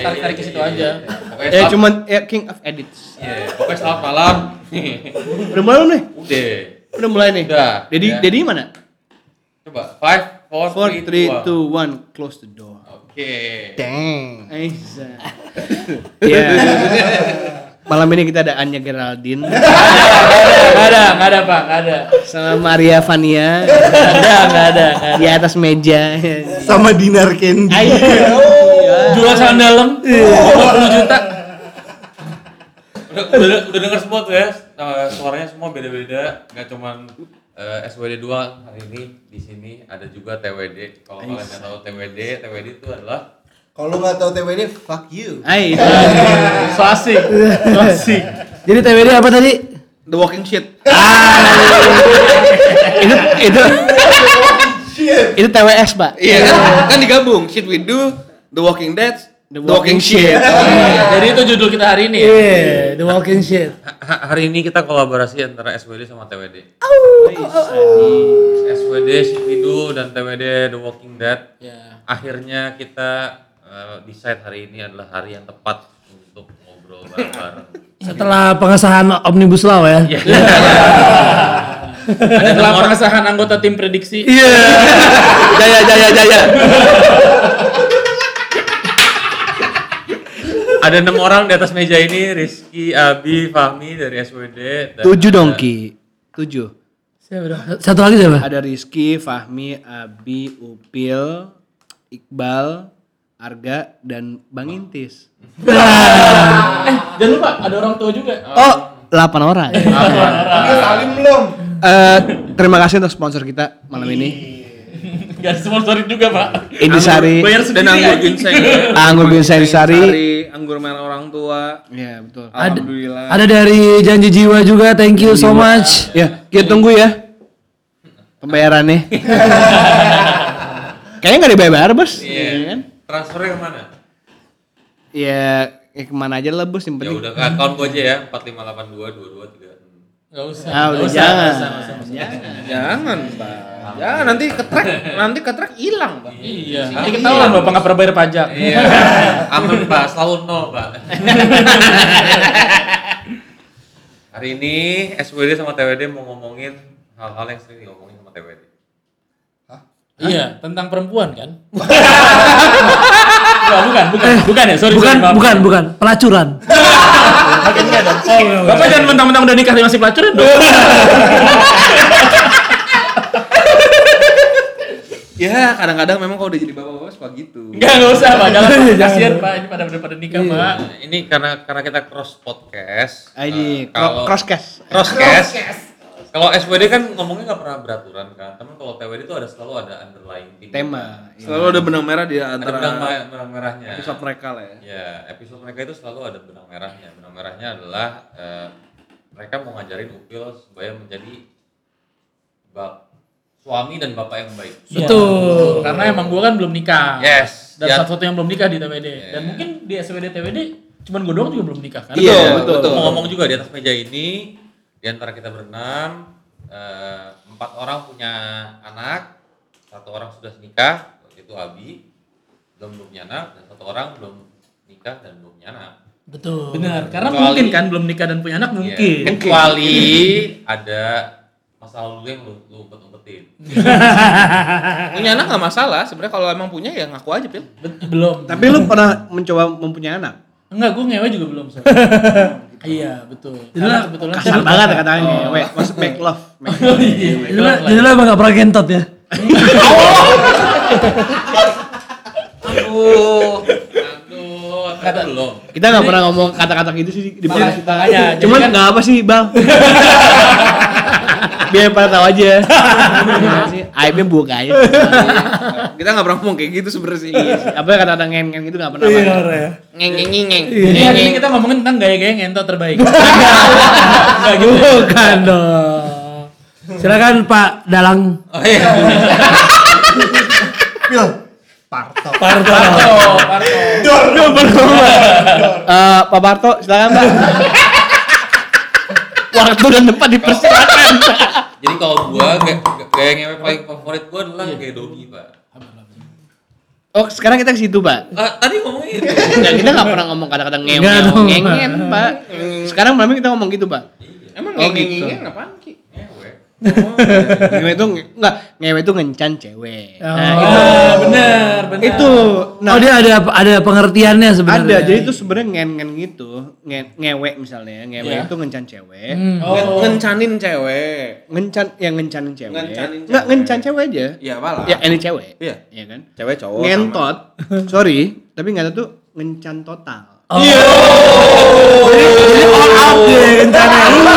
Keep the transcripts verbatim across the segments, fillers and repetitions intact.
tarik-tarik ke situ aja. Pokoknya ya cuman ya king of edits. Iya, pokoknya selamat malam. Udah mulai nih? Udah. Udah mulai nih. Udah. Dedi ya. Dedi mana? Coba five, four, three, two, one, close the door. Oke. Okay. Dang. Aiza. Ya. Malam ini kita ada Anya Geraldine. Enggak ada, enggak ada, Pak, enggak ada. Sama Maria Vania. Enggak ada, enggak ada. Di atas meja. Sama Dinar Candy. Jual saham dalam dua puluh juta. Udah, udah, udah denger semua tuh ya. Suaranya semua beda-beda, enggak cuman uh, S W D dua hari ini di sini ada juga T W D. Kalau kalian enggak tahu T W D, T W D itu adalah Kalau nggak tahu T W D, fuck you. Hai. So asik. So asik. Jadi T W D apa tadi? The Walking Shit. itu itu itu T W S, Pak. Iya kan? Kan digabung. Shit we do, The Walking Dead, The Walking Shit. Jadi itu judul kita hari ini. Iya, yeah, The Walking Shit. Ha- hari ini kita kolaborasi antara S W D sama T W D. S W D Shit We Do dan T W D The Walking Dead. Ya. Akhirnya kita uh, decide hari ini adalah hari yang tepat untuk ngobrol bareng-bareng. Setelah pengesahan Omnibus Law ya. Setelah pengesahan anggota tim prediksi. Iya. Jaya jaya jaya. Ada enam orang di atas meja ini, Rizky, Abi, Fahmi dari S W D. Dan Tujuh dong, Ki. Tujuh. Satu lagi siapa? Ada Rizky, Fahmi, Abi, Upil, Iqbal, Arga, dan Bang Intis. Eh, jangan lupa ada orang tua juga. Oh, delapan orang. Salim belum? Eh, terima kasih untuk sponsor kita malam ini. Gak sponsorin juga, Pak. Indisari Bayar Dan anggur ginseng. Anggur ginseng sari. Sari, anggur merah orang tua. Iya, betul. Alhamdulillah. Ada dari Janji Jiwa juga, thank you so much. Ya, kita tunggu ya. Pembayarannya. Kayaknya nggak dibayar, Bos. Iya. Iya kan? Transfernya kemana? Ya, ya kemana aja lah, Bos, yang Ya penting. udah ke account gue aja ya, empat lima delapan dua dua dua tiga. Gak usah. Ah, udah Nggak usah, jangan. nggak usah, nggak usah, nggak usah. Jangan. Jangan, Pak. Jangan nanti ketrek, nanti ketrek hilang, Pak. Iya. Nanti ketahuan Bapak nggak pernah bayar pajak. Iya. Aman Pak, selalu nol Pak. Hari ini S W D sama T W D mau ngomongin hal-hal yang sering ngomongin sama T W D. Iya, tentang perempuan kan? Wah, bukan, bukan, bukan ya, sorry. Bukan, sorry, maaf. bukan, bukan, pelacuran. Makin enggak dong. Bapak jangan mentang-mentang udah nikah masih pelacuran dong. Ya, kadang-kadang memang kalau udah jadi bapak-bapak suka gitu. Enggak, enggak usah, Pak. Jangan, kasihan, Pak. Ini pada pada nikah, Pak. Nah, ini karena karena kita cross podcast. Ini eh, kalau crosscast. crosscast. Kalau S W D kan ngomongnya nggak pernah beraturan kan, tapi kalau T W D itu ada selalu ada underlying theme. Tema. Selalu ada benang merah di Ada antara benang, ma- benang merahnya. episode mereka lah ya. Ya, episode mereka itu selalu ada benang merahnya. Benang merahnya adalah eh, mereka mau ngajarin Upil supaya menjadi bap suami dan bapak yang baik. Betul. Karena emang gua kan belum nikah. Yes. Dan Ya. satu-satu yang belum nikah di T W D. Yeah. Dan mungkin di S W D T W D cuman gua doang juga belum nikah kan? Iya, Betul, betul. Mau ngomong juga di atas meja ini, di antara kita berenam, eh, empat orang punya anak, satu orang sudah nikah, yaitu Abi, belum belum punya anak, dan satu orang belum nikah dan belum punya anak. Betul. Benar, karena Kecuali- mungkin kan belum nikah dan punya anak mungkin. Iya, kecuali ada masa lalu yang lu, lu umpet-umpetin. Punya anak nggak masalah, sebenarnya kalau emang punya ya ngaku aja, Pil. Bet- belum. Tapi lu pernah mencoba mempunyai anak? Enggak, gue ngewe juga belum. So. Iya, betul. Karena kebetulan Kasar banget katanya ngewe. Maksud make love. Make love. Jadi lo, jadi lo emang gak pernah gentot ya? Aduh, aduh, kata belum. Kita nggak pernah ngomong kata-kata gitu sih di podcast kita. makanya, jadi Cuman kan- nggak apa sih, Bang. Biar pada tahu aja. Gimana sih? Aibnya buka aja. Kita nggak pernah ngomong kayak gitu sebenarnya sih. Apa kata-kata ngeng-ngeng itu nggak pernah. Iya, Bang. ya. Ngeng ngeng ngeng ngeng. Ini hari ini kita ngomongin tentang gaya-gaya ngentot terbaik. Enggak gitu. Bukan dong. Silakan Pak Dalang. Oh iya. Pil. Parto. Parto, Parto. Eh, Pak Barto, silakan Pak. Waktu dan tempat dipersilakan. Jadi kalau gua gaya, gaya ngewe paling favorit gua adalah gaya Dogi, Pak. Oh, sekarang kita ke situ, Pak. Ah, tadi ngomongin itu. Nggak, kita nggak pernah ngomong kata-kata ngewe, Nggak dong, ngengen, Pak. Sekarang malam ini kita ngomong gitu, Pak. Emang Oh, ngengeng gitu. apaan Ki? Ngewe. Ngewe itu nge- enggak, ngewe itu ngencan cewek. Oh. Nah, itu Ah, benar, benar. itu nah oh dia ada ada pengertiannya sebenarnya. ada. Jadi itu sebenarnya ngen-ngen gitu, nge- ngewe misalnya, ngewe Iya. itu ngencan cewek. Hmm. Ngen- Oh. Ngencanin cewek. Ngencan yang ngencanin cewek. Ngencanin Enggak, cewek. ngencan cewek aja. Iya, malah. Ya, ini cewek. Iya. Iya kan? Cewek cowok. Ngentot. Sorry, tapi ngentot tuh ngencan total. Iya. Jadi all out dia rencananya.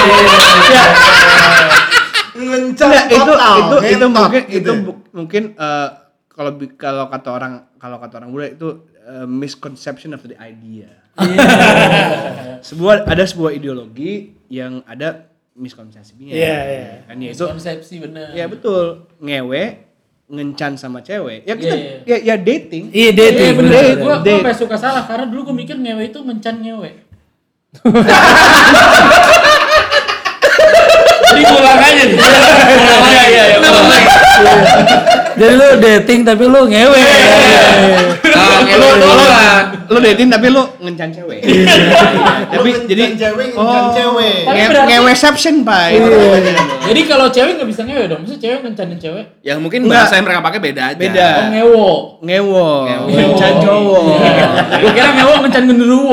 Ngencan Enggak, itu total, itu itu ngentot mungkin gitu itu ya. bu- mungkin eh, kalau bi- kalau kata orang kalau kata orang muda itu eh, misconception of the idea. sebuah ada sebuah ideologi yang ada miskonsepsinya. Iya, iya. Kan ya itu Konsepsi benar. ya betul ngewe ngencan sama cewek. Ya kita Iya, ya, ya dating. Iya dating. Iya benar. Date, Gua gua date. sampai suka salah karena dulu gua mikir ngewe itu ngencan ngewe. Jadi ulang aja nih. Iya iya iya. ulang lagi. Jadi lu dating tapi lu ngewe. Ah, ngewe Lu doang. lu dating tapi lu ngencan cewek. Tapi Lu jadi ngencan cewek, ngencan cewek. Tapi nge- berarti- ngeweception, Pak. Itu namanya. Jadi kalau cewek nggak bisa ngewe dong. Maksudnya cewek ngencanin cewek. Ya mungkin Enggak. bahasa yang mereka pakai beda aja. Beda. Oh ngewo. Ngewo, Ngewo. ngencan cowok. Gua kira ngewo ngencan genderuwo.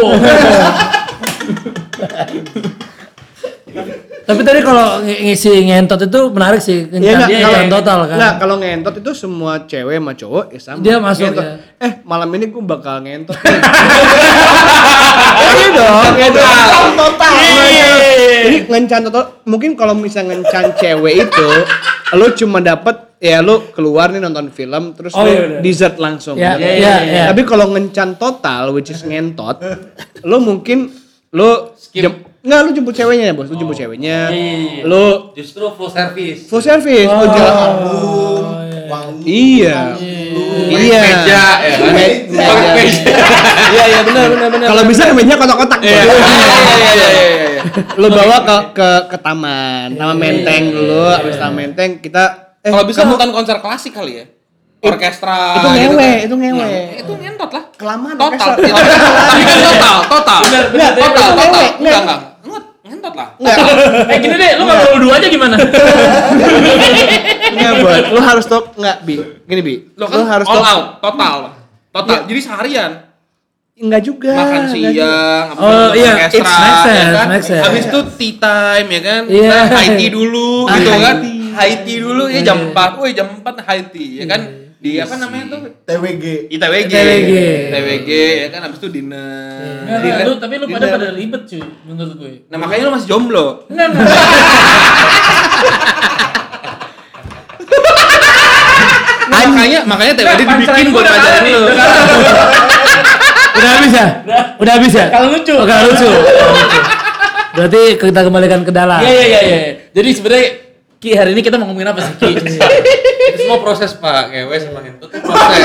Tapi tadi kalau ng- ngisi ngentot itu menarik sih. Ya Kencan, enggak, dia kalau kencan total kan. Enggak, kalau ngentot itu semua cewek sama cowok ya sama. Dia masuk, Ngentot. ya. Eh, malam ini gue bakal ngentot. nih. Iya dong, iya dong. Total. Jadi ngencan total, mungkin kalau misalnya ngencan cewek itu lu cuma dapet ya lu keluar nih nonton film terus Oh, lu iya, bener. dessert langsung. Ya, Gitu. iya, iya. Tapi kalau ngencan total which is ngentot, lu mungkin lu jem- Enggak, lu jemput ceweknya ya, Bos. Lu jemput ceweknya. Lu Justru full service. full service, lu jalan. Wangi. Iya. Iya. Meja ya kan. Me- Pakai meja. Iya, iya benar benar benar. Kalau bisa meja kotak-kotak. Bos. Iya iya iya iya. Lu bawa ke ke ke taman, taman menteng dulu, habis taman menteng kita eh Kalau bisa kamu- nonton konser klasik kali ya. Orkestra itu gitu ngewe, kan. itu ngewe. Nah, itu ngentot lah. Kelamaan Total. orkestra. Tapi kan total, total. Benar, benar. Nggak, Total, itu total. ngewe. Enggak, Nggak. enggak. Nget, ngentot lah. Eh gini deh, lu nggak perlu dua aja gimana? Enggak, buat. Lu harus stop enggak, Bi. Gini, Bi. Lo Lu kan harus all stop. out, total. Total. Jadi seharian. Enggak juga. Makan enggak siang, Oh, nonton iya, orkestra, it's make sense, ya kan? make sense. Habis itu tea time ya kan. Iya. Nah, high tea dulu Ah, gitu high kan. tea. High tea dulu ya jam empat. Woi, jam empat high tea ya kan. Di apa namanya tuh? T W G. I T W G. T W G. T W G ya kan habis itu dinner. Enggak, Dinner- lu tapi lu pada dinner. pada ribet cuy menurut gue. Nah, makanya lu masih jomblo. Enggak enggak. Nah, makanya makanya T W G Nggak, dibikin punchline buat gua udah ngajarin ada lu. nih, udah Udah habis ya? Udah habis ya? Kalau lucu. Oh, kalau lucu. Berarti kita kembalikan ke dalam. Iya iya iya iya. Jadi sebenarnya Ki hari ini kita mau ngomongin apa sih Ki? Itu semua proses, Pak. Ngewe sama ngentot itu proses.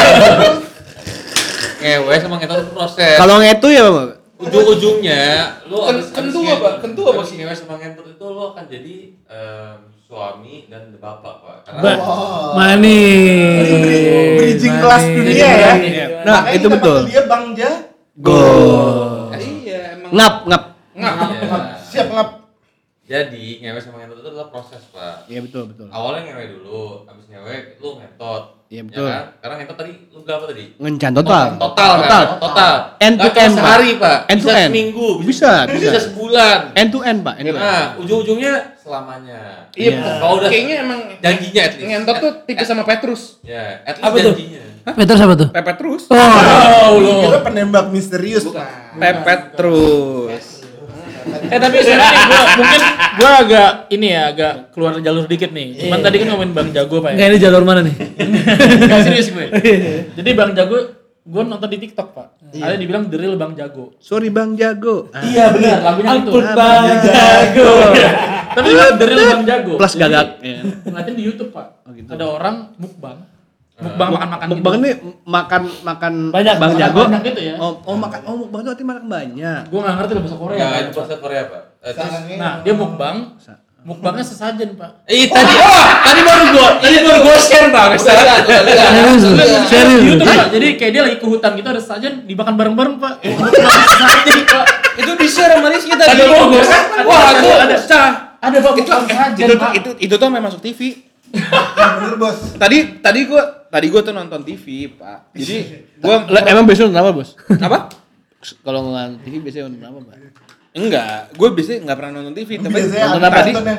Ngewe sama ngentot itu proses. Kalau ngetu ya, Bang. Ujung-ujungnya lu Ken- abis- kentu abis apa? nge- Kentu apa abis sih? ngewe sama ngentot itu lu akan jadi em, suami dan bapak, Pak. Karena Ba- manis. Bridging kelas dunia Manis. ya. Nah, Makanya itu kita betul. panggil dia Bang Ja. Go. Iya, emang. Ngap, ngap. Ngap. Iya. Siap ngap. Jadi ngewe sama ngentot itu adalah proses, Pak. Iya betul, betul. Awalnya ngewe dulu, abis ngewe lu ngentot. Iya, betul. Ya kan? Karena ngentot tadi lu berapa tadi? Ngencan total. Total, Total. kan? Total. End to Nggak cuma end, Pak. sehari, Pak. End to bisa end. seminggu, Bisa, bisa, bisa. sebulan. End to end, Pak. End to end. Nah, ujung-ujungnya selamanya. Iya, Kalau udah kayaknya emang janjinya at least. ngentot tuh tipis sama Petrus. Ya, at least Apa tuh? janjinya. Peter siapa tuh? Pepet terus. Oh, lu. Kita penembak misterius, Pak. Pepet terus. Eh tapi sebenarnya gua mungkin gua agak ini ya agak keluar jalur dikit nih. Cuman tadi kan ngomongin Bang Jago Pak Enggak ya. ini jalur mana nih? Enggak serius gue. Jadi Bang Jago gua nonton di TikTok, Pak. Ada dibilang The Real Bang Jago. Sorry Bang Jago. Ah. Iya benar, lagunya itu. Ampun Bang Jago. Tapi itu The Real Bang Jago. Plus Jadi, gagak. Ya. ngeliatin di YouTube, Pak. gitu. Ada orang mukbang. Mukbang makan-makan gitu. Mukbang ini makan makan Banyak, Bang makan Jago. banyak gitu ya. Oh, oh makan oh mukbang itu artinya makan banyak. Gua enggak ngerti bahasa Korea. Ya, Pak. itu bahasa Korea, Pak. Eh, terus Nah, dia mukbang Mukbangnya sesajen, Pak. Eh tadi tadi baru gua tadi baru gua share Bang. Serius lu? Di Serius lu? YouTube, Pak. Jadi kayak dia lagi ke hutan gitu ada sesajen dimakan bareng-bareng, Pak. Mukbang sesajen, Pak. Itu di-share sama Rizky tadi. Tadi mau gua Wah, itu ada pecah. ada Pak mukbang sesajen, Itu Pak. itu itu tuh memang masuk T V. Bener bos. Tadi tadi gua tadi gua tuh nonton T V, Pak. Jadi gua Lah, emang biasanya nonton apa, Bos? apa? Kalau nonton T V biasanya nonton apa, Pak? Enggak, gue biasanya nggak pernah nonton T V, tapi Biasanya nonton ada apa nih? nonton yang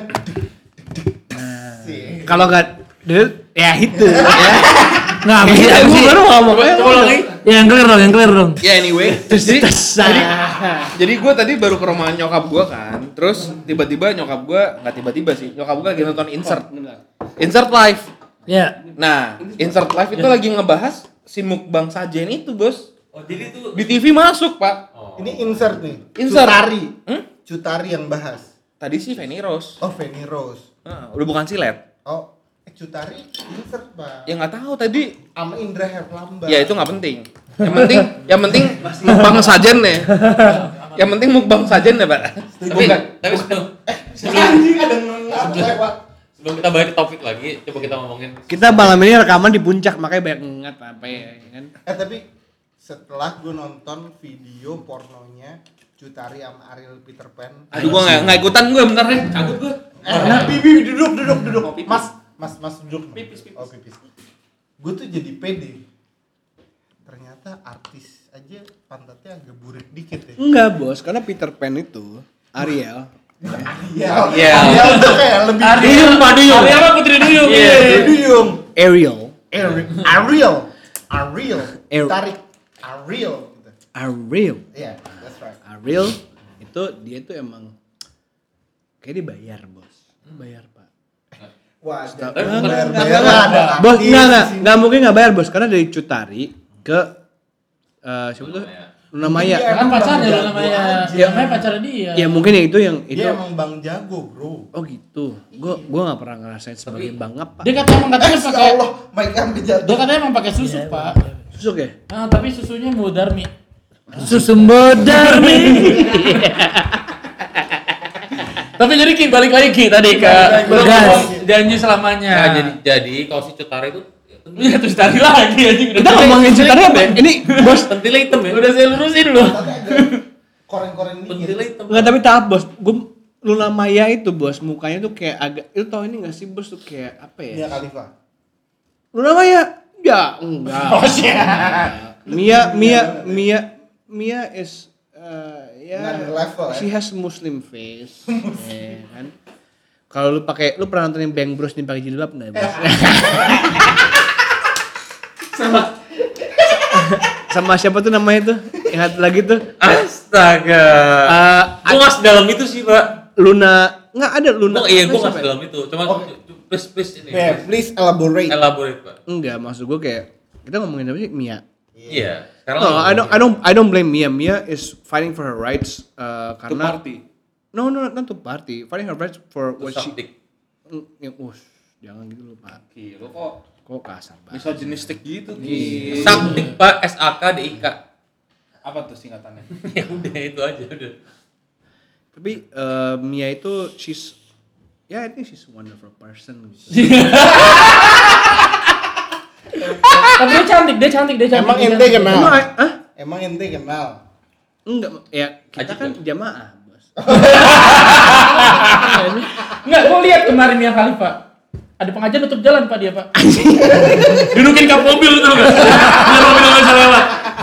Kalau nggak dulu ya itu ya. Nggak, apa sih? Apa sih? Baru ngomong. Yang clear dong, yang clear dong. ya anyway. Jadi jadi, jadi gue tadi baru ke rumah nyokap gue kan, terus tiba-tiba nyokap gue nggak tiba-tiba sih, nyokap gue lagi nonton insert, insert live. Ya. Nah, insert live itu lagi ngebahas si mukbang sajen itu bos. Oh jadi itu Di T V masuk pak. ini insert nih. Insert. Cutari. Hmm? Cutari yang bahas. Tadi sih Feni Rose. Oh Feni Rose. Nah, udah bukan silet. Oh eh, Cutari insert pak. Ya nggak tahu tadi. Sama Indra Herlambang. Ya itu nggak penting. Yang penting, yang penting mukbang sajen nih. Yang penting mukbang sajen ya pak. tapi tapi sebelum Anjing ada ngapa pak. sebelum kita balik ke topik lagi, coba kita ngomongin Kita malam ini rekaman di puncak makanya banyak ngengat apa ya kan. Eh tapi setelah gue nonton video pornonya Cutari sama Ariel Peter Pan. Aduh gua nggak nggak ikutan gue bentar deh. Cabut gue. Eh, nah, Bibi duduk duduk duduk. Mas, mas, mas duduk. Pipis, pipis. Oh, pipis. Gue tuh jadi pede. Ternyata artis aja pantatnya agak burik dikit ya. Enggak, Bos, karena Peter Pan itu Ariel. Iya. Iya. Ariel tuh kayak lebih Duyung, Pak Duyung. Ariel apa Putri Duyung? Iya. Duyung. Ariel. Ariel. Ariel. Ariel. Ariel. Tarik. Ariel. Gitu. Ariel. Iya, that's right. Ariel itu dia tuh emang kayak dibayar, Bos. Bayar, Pak. Wah, Tapi bayar bukan- bayar ada. Bos, artis enggak enggak, di sini. enggak mungkin enggak bayar, Bos, karena dari Cutari ke eh siapa tuh? Maya. Luna Maya. Iya. Kan pacarnya Bang lo namanya. Jago Ya, aja. namanya pacarnya dia. Ya mungkin ya itu yang itu. Dia emang Bang Jago, Bro. Oh gitu. Gua gua enggak pernah ngerasain sebagai bangap, Pak. Dia katanya emang katanya Eh, ya pakai Allah, mic sampai jatuh. dia katanya emang pakai susu, Pak. Susuk ya? Ah, tapi susunya Mudarmi. Susu Mudarmi. Tapi jadi Ki balik lagi Ki tadi ke belum Gas. ngomong janji selamanya. Nah, jadi jadi kalau si Cutari itu Iya terus tadi lagi anjing udah Kita ngomongin Cutari apa ya? Ini, Bos. pentilnya hitam ya. Udah saya lurusin loh. Tapi agak koreng-koreng Pentilnya dikit. hitam. Enggak, tapi tahap, Bos. Gua Luna Maya itu, Bos, mukanya tuh kayak agak itu tau ini enggak sih, Bos, tuh kayak apa ya? Mia Khalifa. Luna Maya? Ya, enggak. Oh siap. Mia Mia Mia Mia is uh, ya Another level, she ya. has Muslim face. Ya, kan. Kalau lu pakai lu pernah nontonin Bang Bros nih pakai jilbab enggak, Bos? Sama Sama siapa tuh namanya tuh? Yang satu lagi tuh. Astaga. Uh, Gua nggak sedalam itu sih, Pak. Luna enggak ada Luna. Oh iya, gua nggak Siapa ya? sedalam itu. Cuma Oh. please please ini. Yeah, please elaborate. Elaborate, Pak. Enggak, maksud gua kayak kita ngomongin apa sih? Mia. Iya. Sekarang No, I don't I don't I don't blame Mia. Mia is fighting for her rights uh, To karena party. No, no, not to party. Fighting her rights for to what she suck dick. Mm, ya, us, jangan gitu loh, Pak. Gila kok Kok kasar banget. bisa jenistik gitu Ki. Suck dick, Pak. S A K D I K. Apa tuh singkatannya? Ya udah itu aja udah. Tapi eh, Mia itu she's ya I think she's a wonderful person gitu. Tapi dia cantik, dia cantik, dia cantik. Emang dia ente cantik. kenal? Emang, ah? Emang ente kenal? Enggak, ya kita Ajib kan ya? jamaah, Bos. Enggak, gua lihat kemarin Mia Khalifa. Ada pengajian tutup jalan Pak dia, Pak. Dudukin kap mobil tuh enggak? Biar mobil enggak bisa lewat.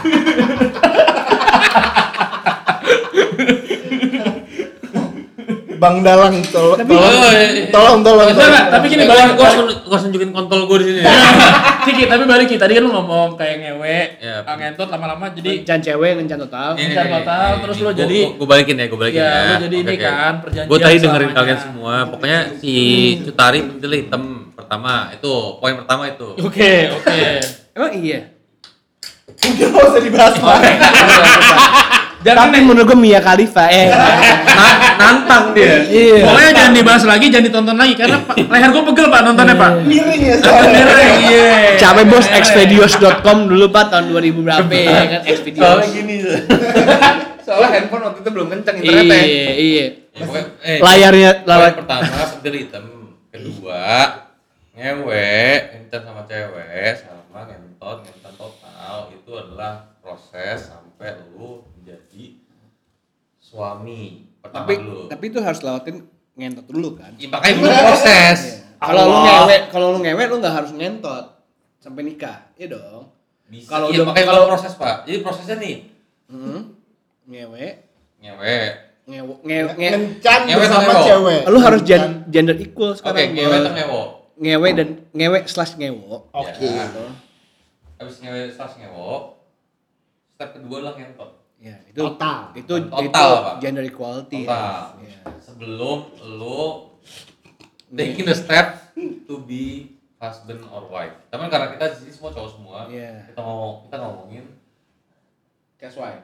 Bang Dalang tol Tapi- tolong, Oh, iya, iya. tolong tolong Enggak, tolong. enggak, tapi gini Eh, balik gua harus gua harus nunjukin kontol gua di sini. ya. Ciki, tapi balik Ki. Tadi kan lu ngomong kayak ngewe, Ya. ah, ngentot lama-lama jadi Kencan cewek, kencan total. Ini, Kencan ini, total, ini, terus ini. lu Gua- jadi- gua, gua balikin ya, gua balikin Ya, ya. lu jadi ini kan, perjanjian Gua tadi dengerin selamanya. kalian semua. Pokoknya si Cutari pentilnya hitam pertama itu, poin pertama itu. Oke, oke. Emang iya. Mungkin nggak usah dibahas Pak. Jangan Tapi menurut gue Mia Khalifa eh Na- nantang dia. iya. Pokoknya jangan dibahas lagi, jangan ditonton lagi karena pa- leher gue pegel Pak nontonnya Pak. Miring ya soalnya. Iya. Capek, Bos, xvideos dot com dulu, Pak, tahun dua ribu berapa ya kan xvideos. Soalnya gini. Soalnya handphone waktu itu belum kenceng internetnya. Iya, iya. Ya, pokoknya, eh, Layarnya poin layar pertama pentil hitam, kedua ngewe, ngentot sama cewek, sama ngentot, ngentot total itu adalah proses sampai lu menjadi suami pertama tapi dulu. tapi itu harus lewatin ngentot dulu kan. Ya, makanya belum proses. Kalau lu Allah. ngewe, kalau lu ngewe lu nggak harus ngentot sampai nikah, iya dong. Bisa. Kalau Iya, udah- makanya kalau- belum proses pak. Jadi prosesnya nih Hmm. Ngewe, ngewe. ngewe, ngewe, ngewe. Ngencan Ngewe bersama atau ngewo? cewek. Lu harus Ngencan. gen- gender equal Oke, sekarang. ngewe atau ngewo. Ngewe dan ngewe slash ngewo. Oke. Ya. Habis ngewe slash ngewo, step kedua adalah ngentot. Ya, itu Total. itu Total, itu Pak. gender equality. Total. Ya. Sebelum lu taking the step to be husband or wife. Tapi karena kita di sini semua cowok semua, Iya. kita ngomong kita ngomongin Guess why?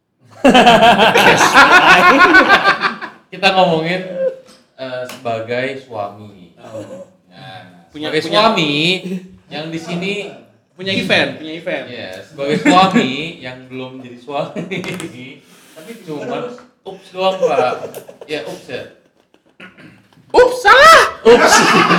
kita ngomongin eh, sebagai suami. Nah, Punya- sebagai punya- suami yang di sini Punya event, punya event. ya sebagai suami yang belum jadi suami tapi cuma ups doang pak. Ya ups ya. Ups, salah. Ups.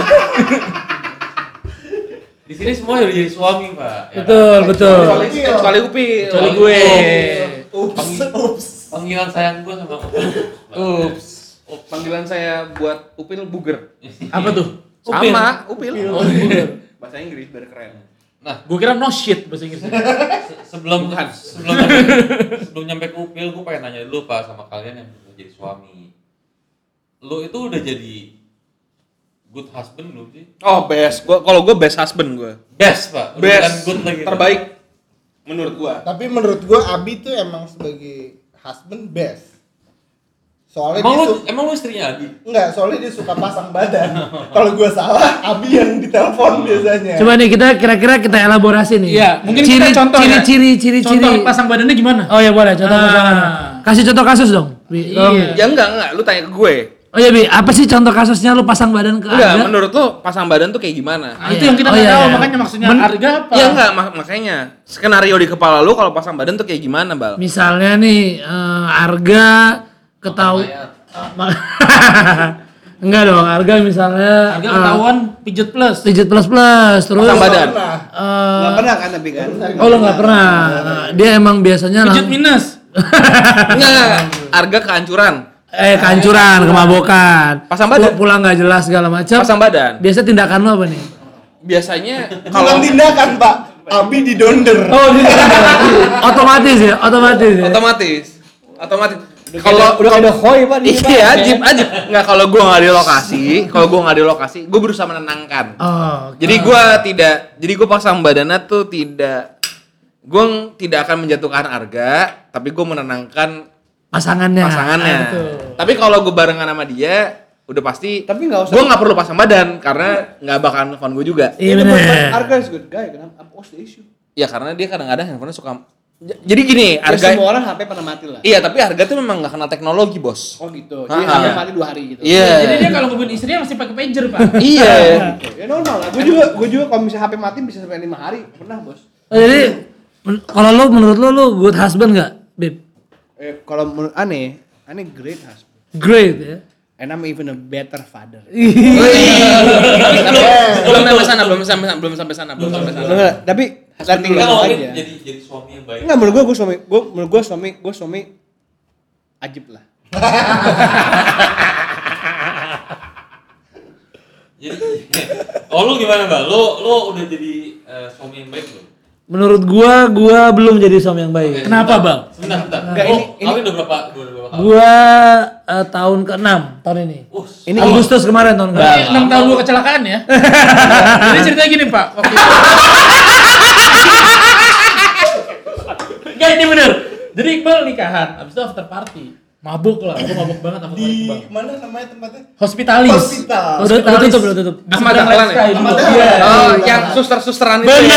Di sini semua udah jadi suami pak. Ya Betul, betul. Kecuali kecuali Upil. Kecuali gue. Ups, ups. Panggilan sayang gue sama ups. Ups. Panggilan saya buat Upil buger. Apa tuh? Sama, Upil. Oh, buger. Bahasa Inggris biar keren. Nah, Gue kira no shit bahasa Inggrisnya. se- sebelum sebelum nyampe, sebelum nyampe ke Upil, gue pengen nanya dulu pak sama kalian yang udah jadi suami. Lo itu udah jadi good husband belum sih? Oh, best. Gua kalau gue best husband gue. Best pak. Udah bukan Best. good lagi. Pak. Terbaik menurut gua. Tapi menurut gua Abi tuh emang sebagai husband best. Soalnya Emang dia lu su- emang lu istrinya Adi? enggak, soalnya dia suka pasang badan. Kalau gua salah, Abi yang ditelepon biasanya. Coba nih kita kira-kira kita elaborasi nih. Iya, mungkin ciri, kita contoh ciri, ya. ciri, ciri, Contoh ciri. pasang badannya gimana? Oh ya boleh, contoh Ah. pasangan. Kasih contoh kasus dong. Bi. Tolong. Iya. Ya enggak, enggak. Lu tanya ke gue. Oh ya Bi, apa sih contoh kasusnya lu pasang badan ke Enggak, Arga? menurut lu pasang badan tuh kayak gimana? Nah, itu yang kita Oh, nggak iya, tahu, iya. makanya maksudnya Men- harga apa? Ya enggak, mak- makanya skenario di kepala lu kalau pasang badan tuh kayak gimana, Bal? Misalnya nih eh, Arga ketahu enggak dong, Arga misalnya Harga eh, ketahuan pijet plus. Pijit plus plus terus Pasang badan. Pernah. eh, Nggak pernah kan tapi kan? oh lo nggak pernah. Nah, dia emang biasanya Pijet lang- minus. Enggak, harga kehancuran. eh kancuran, kemabukan. Pasang badan. Pu- Pulang nggak jelas segala macam. Pasang badan. Biasa tindakan lo apa nih? Biasanya Bukan kalau tindakan, Pak. Abi didonder. Oh, otomatis ya, otomatis ya. otomatis otomatis Kalau udah ada hoy Pak di iya ajib ajib nggak kalau gue nggak di lokasi kalau gue nggak di lokasi gue berusaha menenangkan Oh, jadi gue tidak jadi gue pasang badannya tuh tidak gue tidak akan menjatuhkan harga tapi gue menenangkan pasangannya. pasangannya Ah, betul. tapi kalau gue barengan sama dia udah pasti Tapi nggak usah. gue nggak perlu pasang badan karena nggak bakalan nelfon gue juga Iya Itu buat- benar. Arga is good guy, kenapa? What's the issue? ya karena dia kadang-kadang handphonenya suka J- jadi gini Ya, harga semua orang H P pernah mati lah. iya tapi harga tuh memang nggak kenal teknologi bos Oh gitu. Ah, Dia ah. H P mati dua hari gitu. iya Jadi dia kalau ngebun istrinya masih pakai pager, Pak. iya Ya normal lah. Gue juga, gue juga kalau misalnya H P mati bisa sampai lima hari. Pernah bos. Oh, jadi men- kalau lo menurut lo lo good husband nggak, Bib? Eh, kalau menurut aneh, aneh great husband. Great ya. And I'm even a better father. belum sampai sana belum sampai sana belum sampai sana belum sampai sana Enggak, tapi letting Kita you know ngomongin aja. jadi jadi suami yang baik. Enggak, menurut gue gue suami, gue menurut gue suami, gue suami ajib lah. Jadi, oh lu gimana mbak? Lu lu udah jadi eh, suami yang baik belum? Menurut gua, gua belum jadi suami yang baik. Kenapa, Bang? Sebentar, sebentar. Enggak, oh, ini- ini- kalian udah berapa? Udah berapa kali? Gua eh, tahun keenam tahun ini. Uh, Ini Agustus kemarin tahun Berarti kemarin. enam tahun gua kecelakaan ya. Jadi ceritanya gini, Pak. Waktu itu. Enggak, ini bener. Jadi Iqbal nikahan, abis itu after party. Mabuk lah, gua mabuk banget sama Di Iqbal. mana namanya tempatnya? Hospitalis. Hospital. Udah udah tutup, udah tutup. Di Ahmad seberang Dahlan Let's ya? Sky dulu. Ahmad Iya. Dahlan. oh yang suster-susteran itu Bener.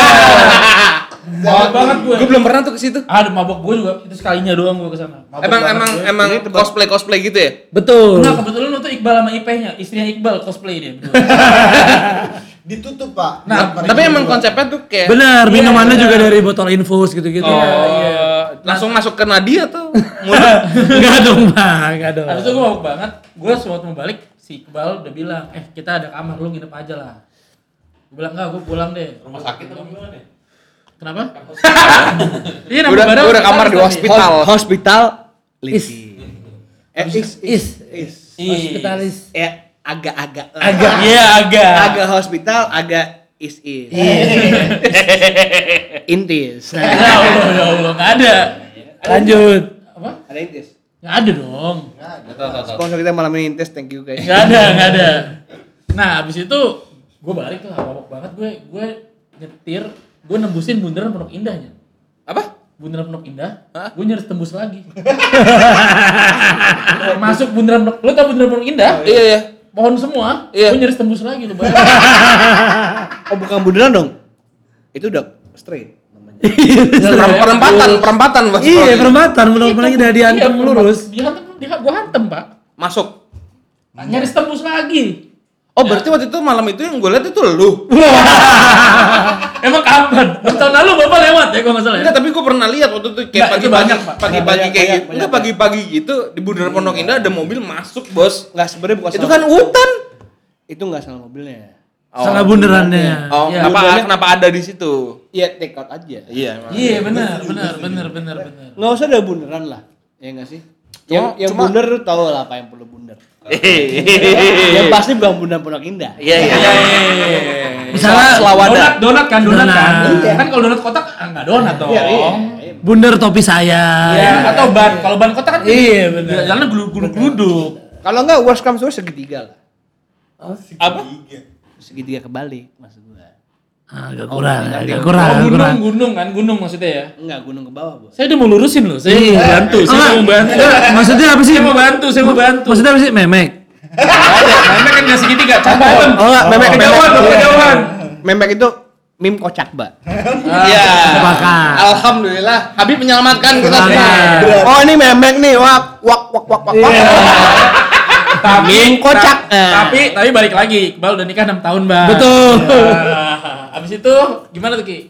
Mabuk banget gue. gue belum pernah tuh ke situ Aduh, mabuk gue juga. Itu sekalinya doang gue kesana. Mabuk emang banget emang gue. emang cosplay cosplay gitu ya Betul. Nah, kebetulan lo tuh Iqbal sama Ipehnya, istrinya Iqbal cosplay dia. berdua. Ditutup, Pak. Nah, Buat tapi mereka emang berdua. konsepnya tuh kayak Benar, minumannya Iya. juga dari botol infus gitu-gitu. oh iya. Langsung masuk ke nadi atau Enggak dong, Bang. Enggak dong. Habis itu gue mabuk banget. Gue sewaktu mau balik, si Iqbal udah bilang, eh kita ada kamar, lu nginep aja lah. Gue bilang, enggak, gue pulang deh. Rumah sakit atau gimana nih? Kenapa? Iya, udah udah kamar di hospital. Hospital Is. Eh, is, Is. is. Hospitalis. Ya agak-agak. Agak, iya agak. Agak hospital, agak is is. Intis. Ya Allah, ya Allah, nggak ada. Lanjut. Apa? Ada intis. Nggak ada dong. Tahu tahu tahu. Sponsor kita malam ini intis, thank you guys. Nggak ada, nggak ada. Nah, abis itu gue balik tuh mabok banget. Gue gue nyetir, gue nembusin bundaran Pondok Indahnya. Apa? Bundaran Pondok Indah, gue nyaris tembus lagi. Masuk bundaran Pondok, lo tau bundaran Pondok Indah? Iya ya. Pohon semua, Iya. gue nyaris tembus lagi tuh. Oh bukan bundaran dong? Itu udah straight namanya. Perempatan, perempatan Mas. Iya, perempatan menurut lagi dari diantem lurus. Dia hantem, dia gue hantem pak. Masuk. Nyaris tembus lagi. Oh, berarti waktu itu malam itu yang gue lihat itu lu. Emang kapan? Tahun lalu bapak lewat ya, kalau nggak salah ya. Enggak, tapi gue pernah lihat waktu itu kayak Nggak, itu pagi-pagi, banyak, Pak. pagi-pagi Banyak, kayak banyak, gitu. banyak, Enggak pagi-pagi gitu di Bundaran Pondok Indah ada mobil masuk, Bos. Enggak sebenarnya bukan Itu salah- kan hutan. itu enggak salah mobilnya. Salah bundarannya. Oh, Iya, kenapa bundarannya- kenapa ada di situ? Iya, take out aja. Iya, emang. Iya benar, benar, benar, benar, benar. Enggak usah ada bundaran lah. Ya enggak sih? Yang Cuma- yang cuma- bundar lu tahu lah apa yang perlu bundar. Iya, Yang pasti bukan bundar Pondok Indah. iya. Misalnya Donat, donat kan, donat kan. Donat. Kan kalau donat kotak ah, nggak donat dong. Iya, iya. bundar topi saya. Ya, atau ban. Kalau ban kotak kan Iya, benar. jalannya geluduk-geluduk. Kalau enggak worst comes to worst segitiga lah. Apa? Segitiga kebalik maksud gua. Ah, agak kurang, agak Oh, kurang, agak gunung, kurang. gunung kan, gunung maksudnya ya. Enggak, gunung ke bawah, Bos. Saya udah mau lurusin loh, saya Iya. mau bantu, saya Enggak, mau bantu. enggak, maksudnya apa sih? Saya mau bantu, saya mau bantu. Maksudnya apa sih? Memek. Memek kan nggak segitiga, campur. Oh, enggak, memek Kejauhan, memek. kejauhan. Memek itu meme kocak, Mbak. Iya. Sepakat. Alhamdulillah, Habib menyelamatkan kita semua. Sepakat. Oh, ini memek nih. Wak wak wak wak wak. wak. Tapi Meme kocak. ta- Tapi tapi balik lagi, Iqbal udah nikah enam tahun, Bang. Betul. Nah, abis itu gimana tuh, Ki?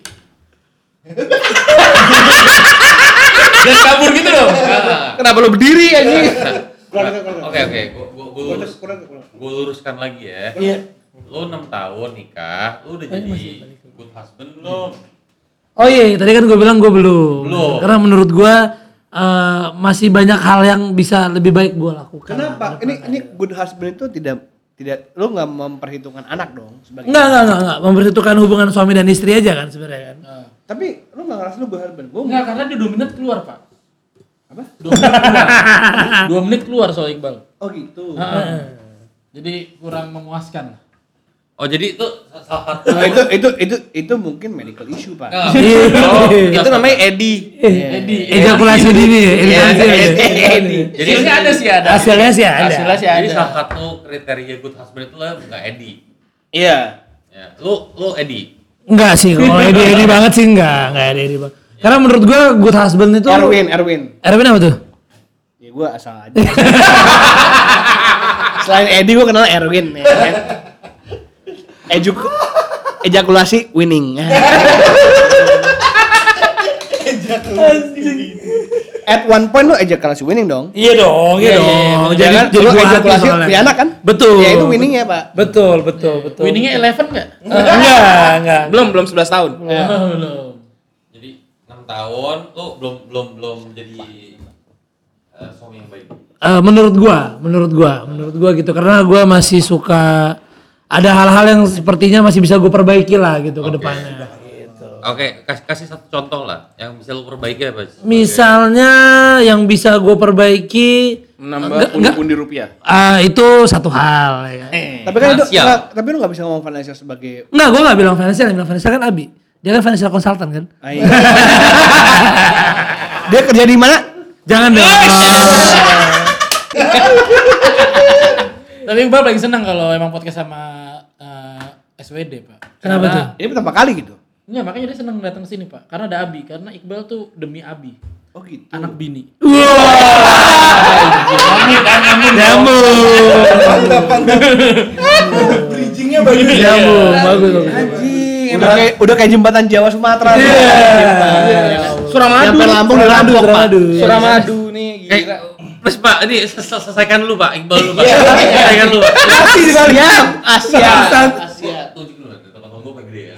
Dan kabur gitu dong. Kenapa lu berdiri anjing? Oke oke, gua gua gua lurus, gua luruskan lagi ya. Iya. Lu enam tahun nikah, lu udah jadi good husband belum? Oh iya, tadi kan gue bilang gue belum. Belum. Karena menurut gue eh, masih banyak hal yang bisa lebih baik gue lakukan. Kenapa? Ini ini good husband itu tidak tidak lu nggak memperhitungkan anak dong sebagai. Enggak, enggak, enggak, enggak. Memperhitungkan hubungan suami dan istri aja kan sebenarnya kan. Tapi lu nggak ngerasa lu good husband? Gua Enggak, karena dia dua menit keluar, Pak. Apa? Dua menit keluar. Dua menit keluar soal Iqbal. Oh gitu. Heeh. Jadi kurang memuaskan lah. Oh jadi itu salah satu. Nah, itu itu itu itu mungkin medical issue, Pak. Enggak. Oh, itu namanya Edi. Edi, Ejakulasi dini ya, ini kan sih. Edi. Jadi hasilnya ada sih ada. Hasilnya sih ada. Hasilnya sih Jadi ada. salah satu kriteria good husband itu lah enggak Edi. Iya. Ya, lu lu Edi. Enggak sih, kalau Edi Edi banget sih enggak, enggak ada Edi banget. Karena menurut gue good husband itu Erwin, Erwin. Erwin apa tuh? Ya gua asal aja. Selain Edi gua kenal Erwin ya kan. Ejuk ejakulasi winning. At one point lu ejakulasi winning dong. Iya dong, iya dong. Jadi Jadi jadi lu buah hati ejakulasi soalnya. punya anak kan? Betul. Ya itu winning ya, Pak. Betul, betul, betul. Winningnya eleven nggak? enggak, enggak. Belum belum sebelas tahun. Oh, belum. Jadi enam tahun lu belum belum belum jadi eh, suami yang baik. Eh, menurut gua, menurut gua, menurut gua gitu karena gua masih suka ada hal-hal yang sepertinya masih bisa gua perbaiki lah gitu ke Oke. depannya. Oke, kasih, kasih satu contoh lah yang bisa lu perbaiki apa? Misalnya yang bisa gua perbaiki Menambah Enggak, pundi-pundi rupiah. ah, itu satu hal ya. Tapi kan itu Finansial. enggak, tapi lu enggak bisa ngomong financial sebagai Enggak, gua enggak bilang financial, yang bilang financial kan Abi. Dia kan financial consultant kan? Ah, iya. Dia kerja di mana? Jangan dong. Tapi Iqbal paling senang kalau emang podcast sama eh, S W D, Pak. Kenapa tuh? Ini pertama kali gitu. Enggak, makanya dia senang datang ke sini, Pak. Karena ada Abi, karena Iqbal tuh demi Abi, Oh gitu. anak bini. Bridgingnya bagus. Nyambung, bagus bagus. Anjing, udah kayak udah kayak jembatan Jawa Sumatera. Ya Allah. Suramadu. Sampai Lampung dan Lampung, Pak. Suramadu. Suramadu nih Eh, gila. Mas Pak, ini sel- selesaikan dulu Pak, Iqbal dulu Pak. Selesaikan dulu Pak. Siap, Asia. Asia, tunjuk dulu nanti tempat tunggu paling gede ya.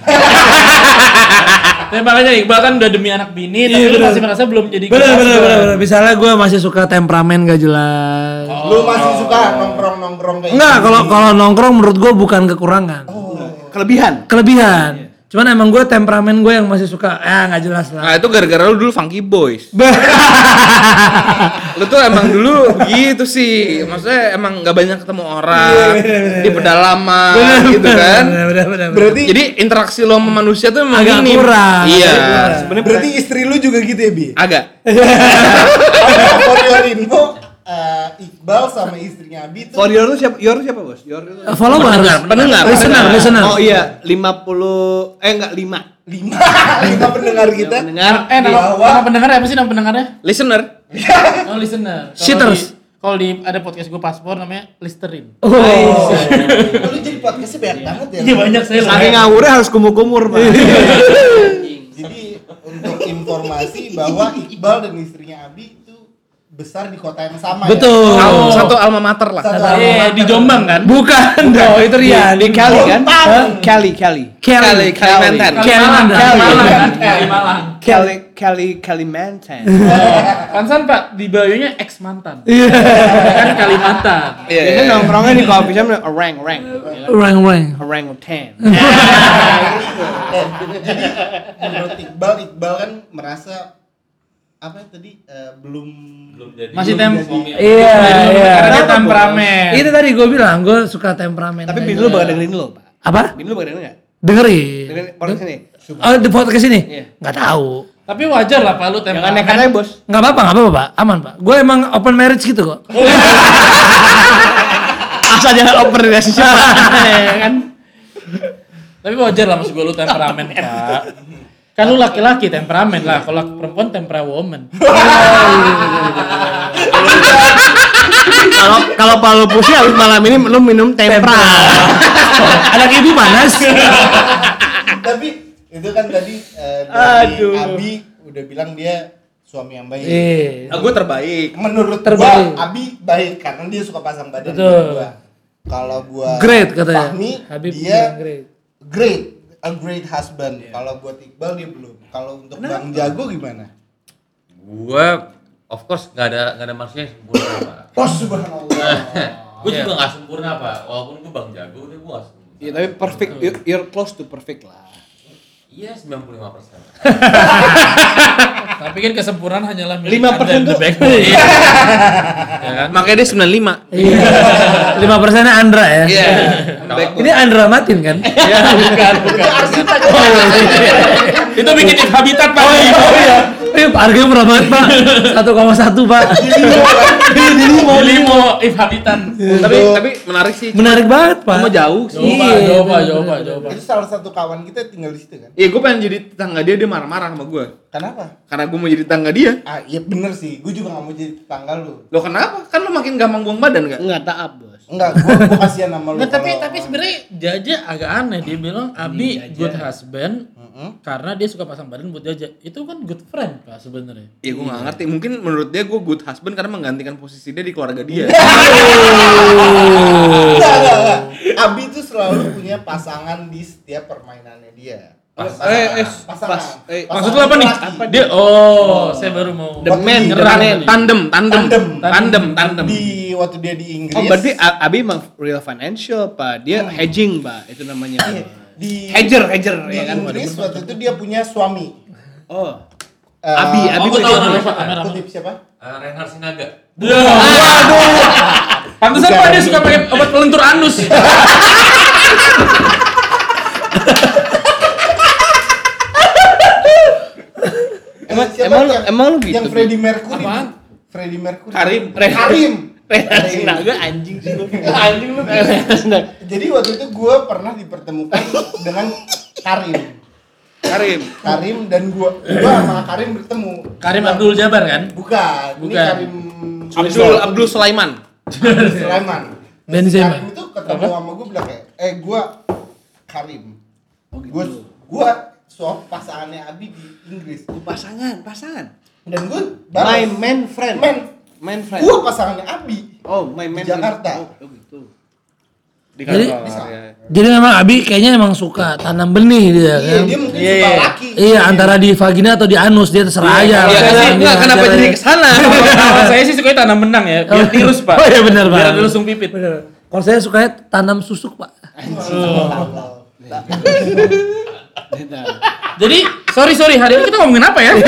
Nah, makanya Iqbal kan udah demi anak bini, tapi lu masih merasa belum jadi Bener good bener husband. bener bener. Misalnya gue masih suka temperamen gak jelas. Lu masih suka nongkrong-nongkrong kayak Enggak, gini? kalau kalau nongkrong menurut gue bukan kekurangan. Kelebihan. Kelebihan. Cuman emang gue temperamen gue yang masih suka, ya nggak jelas lah. Nah itu gara-gara lu dulu funky boys. Lu tuh emang dulu begitu sih. Maksudnya emang nggak banyak ketemu orang di pedalaman gitu kan. Bener, bener, bener, bener. Berarti Jadi interaksi lo sama manusia tuh emang Agak minim. kurang. Iya. Sebenarnya berarti istri lu juga gitu ya, Bi? Agak. For your info, eh, Iqbal sama istrinya Abi tuh for your itu siapa? Your siapa, Bos? Your itu. Uh, followers, pendengar, listener, pendengar. listener. Oh iya, lima puluh eh enggak lima. lima lima pendengar kita. Pendengar. Eh, nama, Bahwa- nama pendengar apa sih nama pendengarnya? Listener. Oh, listener. Kalau Shitters. di- Kalau di ada podcast gue paspor namanya Listerin. Oh. Lu jadi podcastnya banyak banget ya. Iya banyak saya. Saking ngawurnya harus kumur-kumur, Pak. Jadi untuk informasi bahwa Iqbal dan istrinya Abi itu besar di kota yang sama Betul. ya. Al- Satu alma mater lah. Satu Iya, alma di mater. Jombang kan? Bukan, dong, itu Rian. Di Cali kan? Bontang. Hah? Cali, Cali. Kali Kalimantan. Kalimalang, Cali. Kalimalang kan? Kalimalang. Cali, Cali, Kalimantan. Pansan Pak, di bayunya ex mantan. Iya. Kan Kalimantan. Iya. Biasanya nongkrongnya di coffee shop orang, orang. Orang orang. Orang ten. Eh, jadi menurut Iqbal, Iqbal kan merasa apa ya tadi eh, belum Belum jadi. Masih belum tem- jadi- Iya, iya. Karena dia Kenapa, temperamen. Itu tadi gue bilang, gue suka temperamen. Tapi aja. bini lu bakal dengerin lo, Pak. Apa? Bini lu bakal dengerin enggak? Dengerin. Dengerin podcast ini. Oh, di podcast ini? Iya. Nggak tahu. Tapi wajar lah Pak lu Jangan temperamen. nekat aja, Bos. Nggak apa-apa, nggak apa-apa, Pak. Aman, Pak. Gue emang open marriage gitu kok. Asal jangan open relationship. Ya kan? Tapi wajar lah maksud gue lu temperamen Pak. Kan lu laki-laki temperamen lah, kalau perempuan tempera woman. Kalau kalau Palu pusing habis malam ini lu minum tempra. Anak ibu panas. Tapi itu kan tadi eh, dari Aduh. Abi udah bilang dia suami yang baik. Iya. Nah, gue terbaik. Menurut Terbaik. gua Abi baik karena dia suka pasang badan Betul. sama gua. Kalau gua Great katanya. Fahmi, Habib dia bilang great. great, a great husband. Kalau buat Iqbal dia belum. Kalau untuk Bang Jago gimana? Gua of course nggak ada nggak ada manusia yang sempurna Pak. Oh subhanallah. Gue juga nggak sempurna Pak. Walaupun gue bang jago, tapi gue nggak sempurna. Iya, tapi perfect. You're- You're close to perfect lah. Iya sembilan puluh lima persen. Tapi kan kesempurnaan hanyalah milik lima persen Anda, tuh- the backbone. Ya kan? Makanya dia sembilan puluh lima. Iya. Lima persennya Andra ya. Iya. Ini Andra Matin kan? Ya, bukan, bukan. Itu bikin if habitat Pak. Oh iya. Eh, harganya murah banget, Pak. satu koma satu, Pak. Limo, limo if habitat. Tapi tapi menarik sih. Menarik banget, Pak. Cuma jauh sih. Coba, Iya, coba, bener, coba, bener. coba. Itu salah satu kawan kita tinggal di situ kan? Iya, gue pengen jadi tetangga dia, dia marah-marah sama gue. Kenapa? Karena gue mau jadi tetangga dia. Ah iya bener sih, gue juga gak mau jadi tetangga lu. Lo kenapa? Kan lo makin gampang buang badan kan? Enggak taat, Bos. Enggak, gue gue kasihan sama lu. Nggak, tapi kalau- tapi sebenarnya Jaja agak aneh, dia bilang Abi good husband karena dia suka pasang badan buat Jaja. Itu kan good friend Pak sebenarnya. Iya, gue nggak ngerti. Mungkin menurut dia gue good husband karena menggantikan posisi dia di keluarga dia. Enggak, enggak, enggak. Abi tuh selalu punya pasangan di setiap permainannya dia. Pasangan, Eh, eh, pasangan. pas. Eh, Pasangan Maksud lu apa nih? laki. Dia oh, saya baru mau The Waktu man, di- the nyerang man. tadi. Tandem, tandem, Tandem. tandem, tandem. Di waktu dia di Inggris. Oh, berarti A- Abi emang real financial, Pak. Dia hedging, Pak. Itu namanya. Iya, di Hedger, hedger di ya kan. Inggris waktu itu dia punya suami. Oh. Eh, Abi, Abi kutip- tahu namanya, Pak. Kamera. Kutip siapa? Uh, Reinhard Sinaga. Pantesan Pak dia suka pakai obat pelentur anus. Emang, emang lu- emang lu gitu, Yang Bi? Freddie Mercury. Apaan? Freddie Mercury. Karim. Karim. Rehat Sinaga anjing sih lu. Anjing lu. Jadi waktu itu gue pernah dipertemukan dengan Karim. Karim. Karim dan gue, gue sama Karim bertemu. Karim Abdul Jabbar kan? Bukan. Ini Bukan. Karim Abdul Abdul Sulaiman. Sulaiman. Benzema. Karim itu ketemu sama gue bilang kayak, eh gue Karim. Oh, gitu. Gue gue swap pasangannya Abi di Inggris. Pasangan, pasangan. Dan gue My man friend. Man, Man friend. gue pasangannya Abi. Oh, my man Di Jakarta. friend. Oh, gitu. Di Jadi- kantor. Ya. Jadi memang Abi kayaknya emang suka tanam benih dia Iya, kan. dia mungkin Iya, suka iya. laki. Iya, antara di vagina atau di anus dia terserah aja. Iya, Lah, kenapa, dia enggak, kenapa aja. jadi kesana? Kalau saya sih sukanya tanam benang ya, biar tirus pak. Oh iya benar, Pak. Biar ada langsung pipit. Bener. Kalau saya sukanya tanam susuk, Pak. Jadi sorry sorry hari ini kita ngomongin apa ya?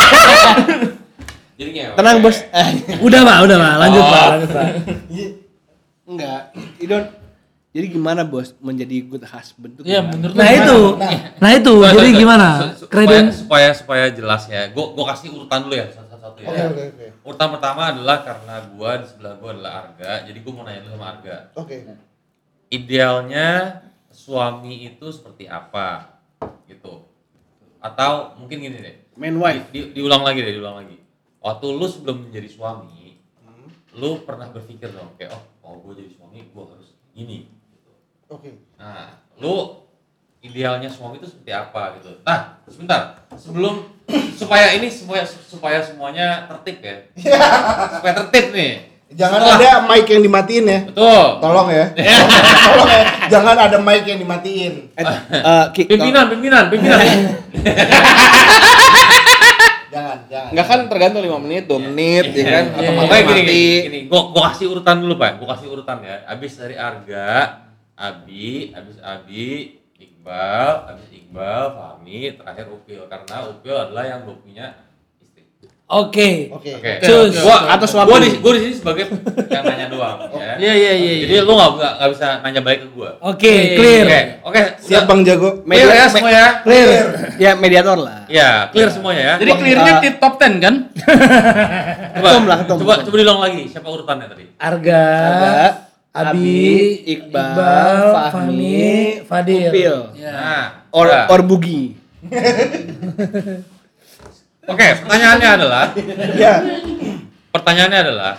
Jadi gimana? Tenang, Bos. Udah, Pak, udah, Pak. Lanjut, Oh. Pak. Lanjut, Pak. Enggak. You don't. Jadi gimana, Bos, menjadi good husband tuh? Iya gimana? menurut Nah, itu. Nah, itu. Nah, Jadi nah, nah. gimana? Su- su- Kreden supaya, supaya supaya jelas ya. Gua gua kasih urutan dulu ya satu-satu ya. Oke, oke, oke. Urutan pertama adalah karena gua di sebelah gua adalah Arga. Jadi gua mau nanya dulu sama Arga. Oke. Idealnya suami itu seperti apa? Gitu. Atau mungkin gini deh. Man wife. Di, di- diulang lagi deh, diulang lagi. Waktu lu sebelum menjadi suami, lu pernah berpikir dong kayak oh, kalau gua jadi suami gua harus gini. Oke. Nah, lu idealnya suami itu seperti apa gitu. Nah, sebentar. Sebelum supaya ini supaya supaya semuanya tertib ya. Supaya tertib nih. Jangan Setelah- ada mic yang dimatiin ya. Betul. Tolong ya. Tolong ya. Jangan ada mic yang dimatiin. Eh, eh, Ki, Pimpinan, pimpinan, pimpinan. Jangan, jangan. Enggak kan tergantung lima menit, dua menit ya kan atau Pokoknya mati. gini, gini, gini. Gua gua kasih urutan dulu, Pak. Gua kasih urutan ya. Abis dari Arga, Abi, abis Abi, Iqbal, abis Iqbal, Fahmi, terakhir Upil karena Upil adalah yang belum punya istri. Oke. Oke. Oke. Cus. Gua Atau suami. Gua di gua di sini sebagai yang nanya doang ya. Iya iya iya. Jadi lu nggak nggak nggak bisa nanya balik ke gua. Oke, clear. Oke, oke. Siap udah. Bang Jago. Clear ya semua ya. Clear. Ya mediator lah. Ya, clear semuanya ya. Jadi clearnya uh, di top ten kan? coba, ketum lah, ketum. coba coba diulang lagi. Siapa urutannya tadi? Arga, Ada Abi, Iqbal, Fahmi, Fadil. Upil. Ya. Nah, Or udah. or Bugi. Oke, pertanyaannya adalah Ya. pertanyaannya adalah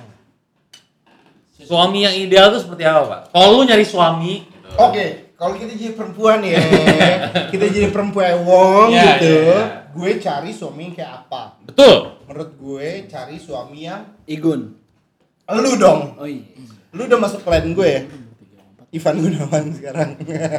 suami yang ideal itu seperti apa, Pak? Kalau lu nyari suami gitu. Oke, kalau kita jadi perempuan ya, kita jadi perempuan wong Iya, gitu, iya, iya. gue cari suami yang kayak apa? Betul. Menurut gue cari suami yang Igun. lu dong. Oh iya. Lu udah masuk plan gue ya? Ivan Gunawan sekarang.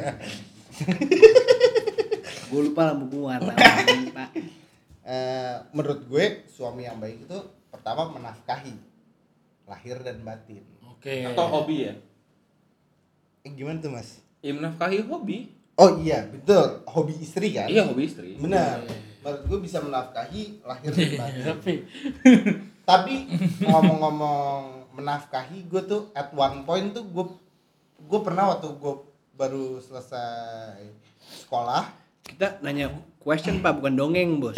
Gue lupa lampu gua warna. Pak. Eh, menurut gue suami yang baik itu pertama menafkahi lahir dan batin. Oke. Atau hobi ya. Eh, gimana tuh Mas? Ya menafkahi hobi. Oh iya, betul. Hobi istri kan? Iya, hobi istri. Benar. Menurut gue bisa menafkahi lahir dan batin. Tapi ngomong-ngomong menafkahi, gue tuh at one point tuh gue gue pernah waktu gue baru selesai sekolah. Kita nanya question Pak, bukan dongeng, Bos.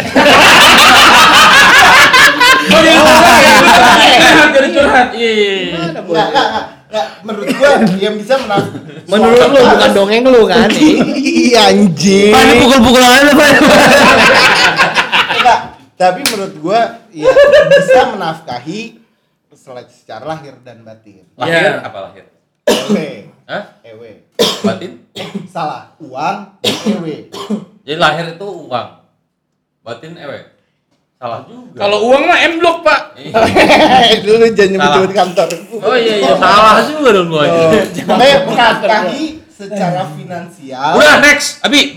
Oh dia curhat, jadi curhat. Iya iya iya. Enggak, enggak, enggak, enggak. Menurut gue yang bisa menaf. Menurut lu bukan dongeng lu kan? Iya anjing. Pak, ini pukul-pukulan aja, Pak. Enggak, tapi menurut gue ya bisa menafkahi sel- secara lahir dan batin. Lahir Iya. apa lahir? Ewe, Hah? ewe. Batin? Salah, uang, ewe. Jadi lahir itu uang. Batin ewe. Salah juga. Kalau uang mah M Block pak. Dulu jangan Salah. nyebut kantor. Oh iya iya salah juga dong gua. Oh, makanya menafkahi secara finansial. Udah next, Abi.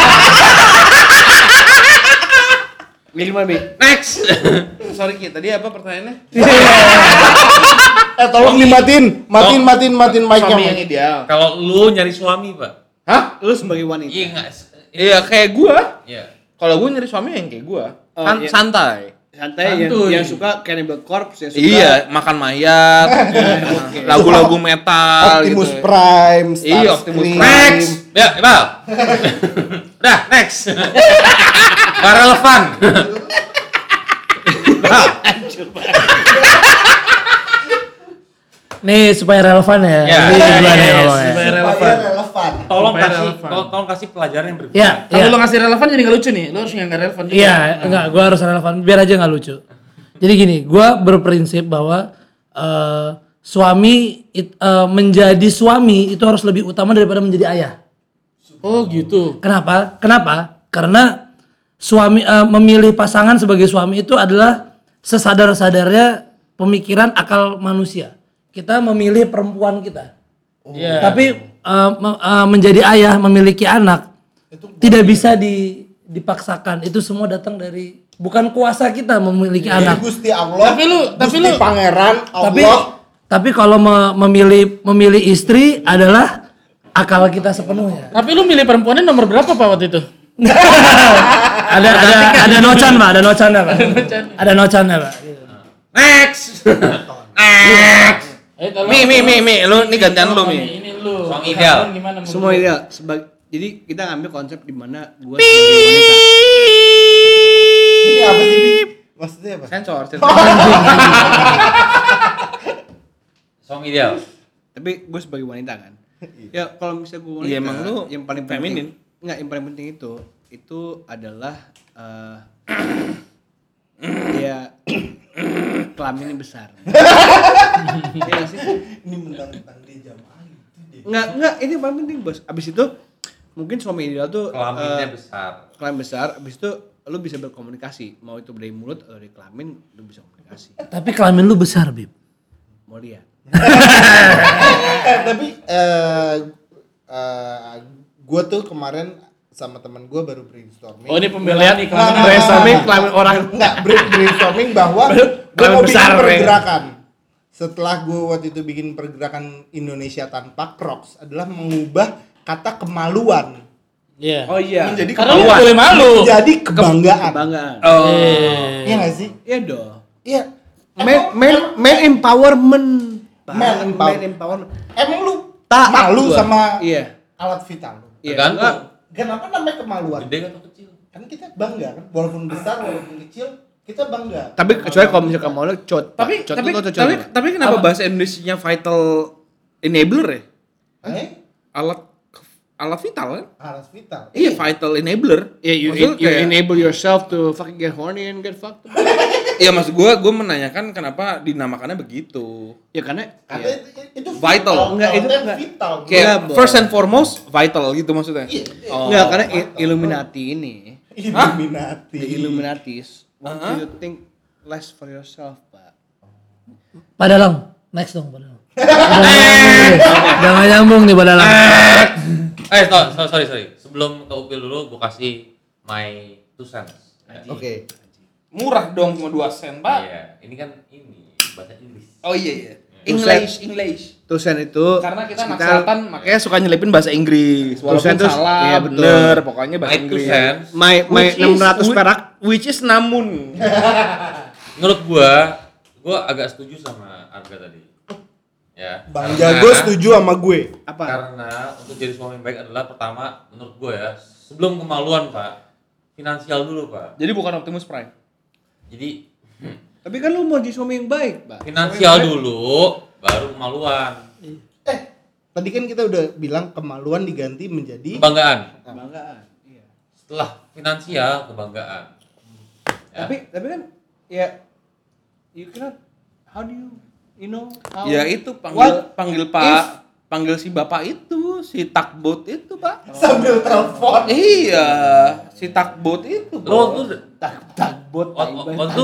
Milih mana, Bi? Next. Sorry Ki, tadi apa pertanyaannya? Eh tolong dimatiin, matiin, matiin, matiin mic-nya. Suami yang ideal. Kalau lu nyari suami, Pak. Hah? Lu sebagai wanita. Iya enggak? Iya kayak gua. Iya. Kalau gua nyari suami yang kayak gua. Oh, San- iya. santai. Santai yang, Santuy. yang suka Cannibal Corpse, yang suka Iya, makan mayat, lagu-lagu metal Optimus gitu. Prime, Starscream. Iya, Optimus Prime. Next. Ya, Ibal. Udah, next. Gak relevan. Bal. Nih supaya relevan ya. Ya, Ini ya, gua ya, nih ya, ngomongnya. supaya Supaya relevan. relevan. Tolong Supaya kasih relevan. tolong, tolong kasih pelajaran yang berbeda. Ya, Kalau ya. lu ngasih relevan jadi nggak lucu nih. Lu harus yang nggak relevan juga. Iya, enggak, gua harus relevan biar aja nggak lucu. Jadi gini, gua berprinsip bahwa eh, suami it- eh, menjadi suami itu harus lebih utama daripada menjadi ayah. Oh gitu. Kenapa? Kenapa? Karena suami eh, memilih pasangan sebagai suami itu adalah sesadar-sadarnya pemikiran akal manusia. Kita memilih perempuan kita. Iya. Tapi eh, me- eh, menjadi ayah, memiliki anak tidak bisa di, dipaksakan. Itu semua datang dari bukan kuasa kita memiliki Jadi anak. Gusti Allah, Tapi lu- tapi Gusti lu- Pangeran Tapi Allah. tapi kalau me- memilih memilih istri adalah akal kita sepenuhnya. Tapi lu milih perempuannya nomor berapa Pak waktu itu? ada ada ada nocan Pak, ada nocan Pak. Ada nocan Pak. Next. Eh, tolong, Mi mi mi tolong. mi, lu ini gantian lu mi. Ini lu. Suami ideal. Husband gimana menurut Semua lu? ideal. Sebag- jadi kita ngambil konsep di mana gua sebagai wanita. Ini apa sih, Bi? Maksudnya apa? Sensor, sensor. Suami ideal. Tapi gue sebagai wanita kan. Ya kalau misalnya gue wanita, Iya, emang lu yang paling penting, feminin. enggak, yang paling penting itu itu adalah eh ya kelaminnya besar. Iya nggak sih? Ini mentang-mentang dia jamaah itu deh. Enggak, enggak, ini yang paling penting, Bos. Abis itu mungkin suami ideal tuh Kelaminnya eh, besar. kelamin besar, abis itu lu bisa berkomunikasi, mau itu dari mulut atau dari kelamin, lu bisa komunikasi. Tapi kelamin lu besar, Bib. Mau lihat. Eh, tapi eh eh gue tuh kemarin sama teman gue baru brainstorming. Oh, ini pembelian nih Nah, kelamin nah, Brainstorming nah, kelamin orang. Enggak, brain- brainstorming bahwa gue kelamin mau bikin besar, Bre. pergerakan. Setelah gue waktu itu bikin pergerakan Indonesia tanpa Crocs adalah mengubah kata kemaluan Iya. Oh iya. Menjadi Karena lu kemaluan. boleh malu. jadi kebanggaan. Kebanggaan. Oh. Iya nggak sih? Iya dong. Iya. Man, man, man empowerment. Pak. Man empower- Man empowerment. Emang lu Taat malu gua. sama Iya. alat vital lu? Iya. Tergantung. Kenapa namanya kemaluan? Gede atau kecil? Kan kita bangga kan, walaupun besar walaupun kecil kita bangga. Tapi kecuali kalau misalkan mau lu cot. Tapi Pak. Cot tapi itu cot. tapi tapi kenapa bahasa Indonesianya vital enabler ya? Eh, Alat alat vital kan? alat vital. Iya, vital enabler. Yeah, you, Maksudnya you kayak- enable yourself to fucking get horny and get fucked. Iya, maksud gua gua menanyakan kenapa dinamakannya begitu. Ya karena Karena ya, itu, itu Vital. Enggak, itu Kalau enggak. vital. Kayak Enggak, Bos. first and foremost vital gitu maksudnya. Iya. Oh. enggak karena i- Illuminati ini. Illuminati. The Illuminatis want Uh-huh. you to think less for yourself, Pak. Padalang, next dong Padalang. Jangan nyambung nih Padalang. Eh, so- so- sorry sorry. Sebelum ke Upil dulu, gua kasih my two cents. Ya. Oke. Murah dong cuma dua sen, Pak. Iya, ini kan ini bahasa Inggris. Oh iya iya. Tusen. English, English. Tusen itu Karena kita anak sekitar- selatan makanya suka nyelipin bahasa Inggris. Walaupun Tusen tuh- salah, iya, betul. bener, pokoknya bahasa My two Inggris. cents. my my Which is- enam ratus whi- perak. Which is namun. Menurut gua, gua agak setuju sama Arga tadi. Ya. Bang karena- Jago setuju sama gue. Apa? Karena untuk jadi suami yang baik adalah pertama menurut gua ya, sebelum kemaluan, Pak. Finansial dulu, Pak. Jadi bukan Optimus Prime. Jadi Tapi kan lu mau jadi suami yang baik, Pak. finansial dulu baru kemaluan. Eh, tadi kan kita udah bilang kemaluan diganti menjadi Kebanggaan. Kebanggaan. Iya. Setelah finansial, kebanggaan. Ya. Tapi tapi kan ya you cannot how do you you know how Ya itu panggil What panggil Pak, panggil si Bapak itu, si takbot itu, Pak. sambil telepon. Iya, si takbot itu. Lo Bos. tuh tak tagbot waktu waktu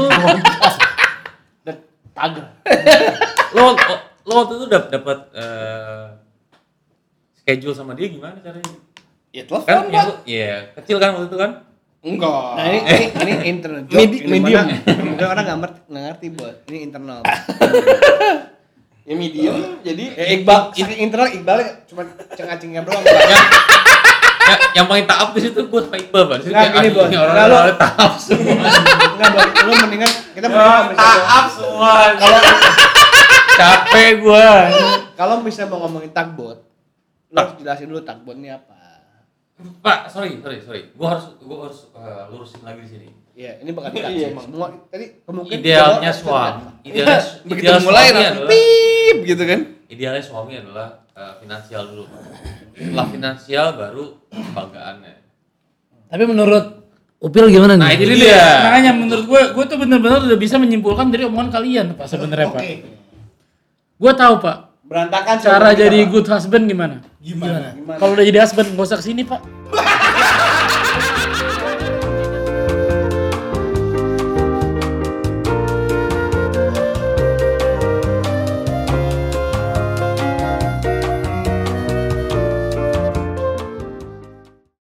tagar. lo lo waktu itu dapat dapat eh, schedule sama dia gimana caranya? Ya telepon, Kan Pak. ya, lu- iya, kecil kan waktu itu kan? Enggak. Nah ini ini, ini internal joke. Medi- di mana medium. Mungkin orang nggak ngerti, nggak ngerti bos. Ini internal. Ya medium, jadi Ya, Iqbal, ini internal Iqbal cuma cengah-cengah doang. Pak. yang, ya, yang paling taap di situ gue sama Iqbal, Pak. Di situ Nggak, kayak, gini, anjing, Bos. orang-orang Nggak, orang taap semua. Enggak bos, lu mendingan kita mendingan bisa Taap semua. Kalau capek gue. kalau bisa mau ngomongin tagbot, lu harus jelasin dulu tagbot ini apa. Pak, sorry, sorry, sorry. Gue harus gue harus eh, lurusin lagi di sini. Iya, ini bakal Iya, dikasih emang. semua. Tadi kemungkinan Idealnya cowok- suami, idealnya begitu ideal mulai suami langsung adalah pip gitu kan. idealnya suami adalah eh, finansial dulu, Pak. Setelah finansial baru kebanggaannya. Tapi menurut Upil gimana nih? Nah, itu Jadi dia. dia, makanya menurut gue, gue tuh benar-benar udah bisa menyimpulkan dari omongan kalian, Pak, sebenarnya, Pak. Oke. Gue tahu, Pak, Berantakan cara sama kita, jadi Pak. good husband gimana. Gimana? Gimana? Kalau udah jadi husband, gak usah kesini, Pak.